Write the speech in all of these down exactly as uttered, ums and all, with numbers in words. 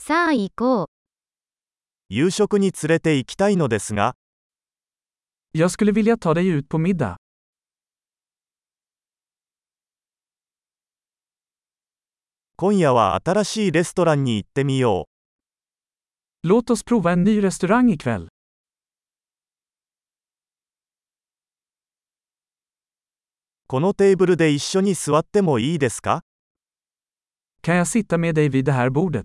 さあ行こう。 夕食に連れて行きたいのですが、 Jag skulle vilja ta dig ut på middag. 今夜は新しいレストランに行ってみよう。 Låt oss prova en ny restaurang ikväll. このテーブルで一緒に座ってもいいですか？ Kan jag sitta med dig vid det här bordet?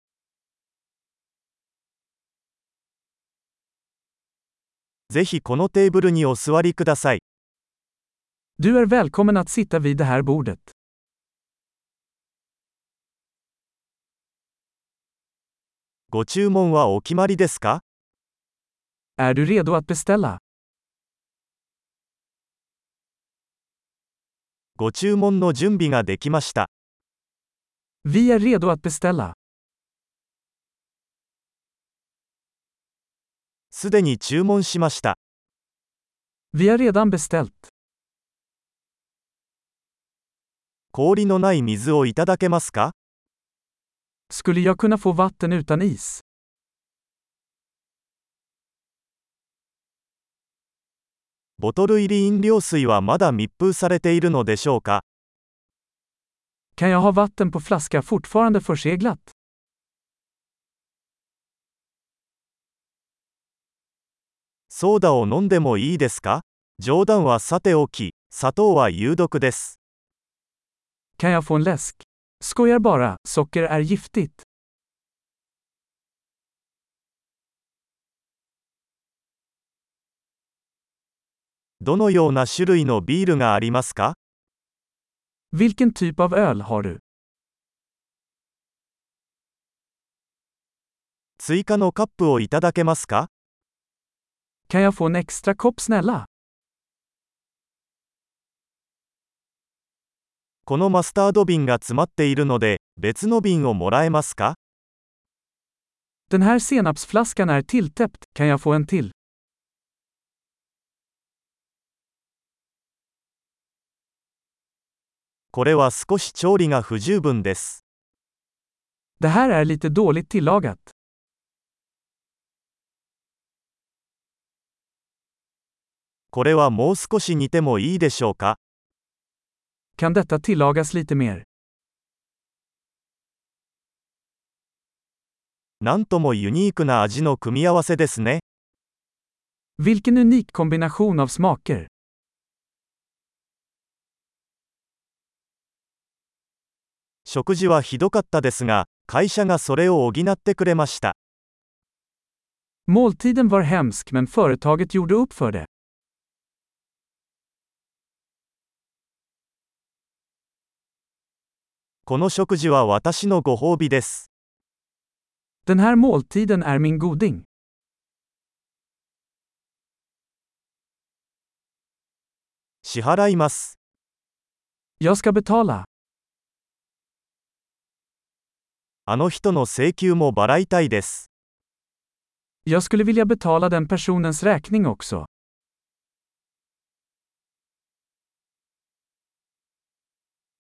ぜひこのテーブルにお座りください。 Du är välkommen att sitta vid det här bordet. ご注文はお決まりですか？ Är du redo att beställa? ご注文の準備ができました。 Vi är redo att beställa. すでに注文しました。 Vi har redan beställt. 氷のない水をいただけますか？ Skulle jag kunna få vatten utan is? ボトル入り飲料水はまだ密封されているのでしょうか？ Kan jag ha vatten på flaska fortfarande förseglat? ソーダを飲んでもいいですか？冗談はさておき、砂糖は有毒です。 Kan jag få en läsk? Skojar bara, socker är giftigt. どのような種類のビールがありますか？ Vilken typ av öl har du? 追加のカップをいただけますか？ Kan jag få en extra kopp snälla? このマスタード瓶が詰まっているので、別の瓶をもらえますか？ Den här senapsflaskan är tilltäppt, kan jag få en till? これは少し調理が不十分です。 Det här är lite dåligt tillagat. これはもう少し煮てもいいでしょうか？ Kan detta tillagas lite mer? なんともユニークな味の組み合わせですね。 Vilken unik kombination av smaker. 食事はひどかったですが、会社がそれを補ってくれました。 Måltiden var hemsk men företaget gjorde upp för det. この食事は私のご褒美です。 Den här måltiden är min goding. 支払います。 Jag ska betala. あの人の請求も払いたいです。 Jag skulle vilja betala den personens räkning också.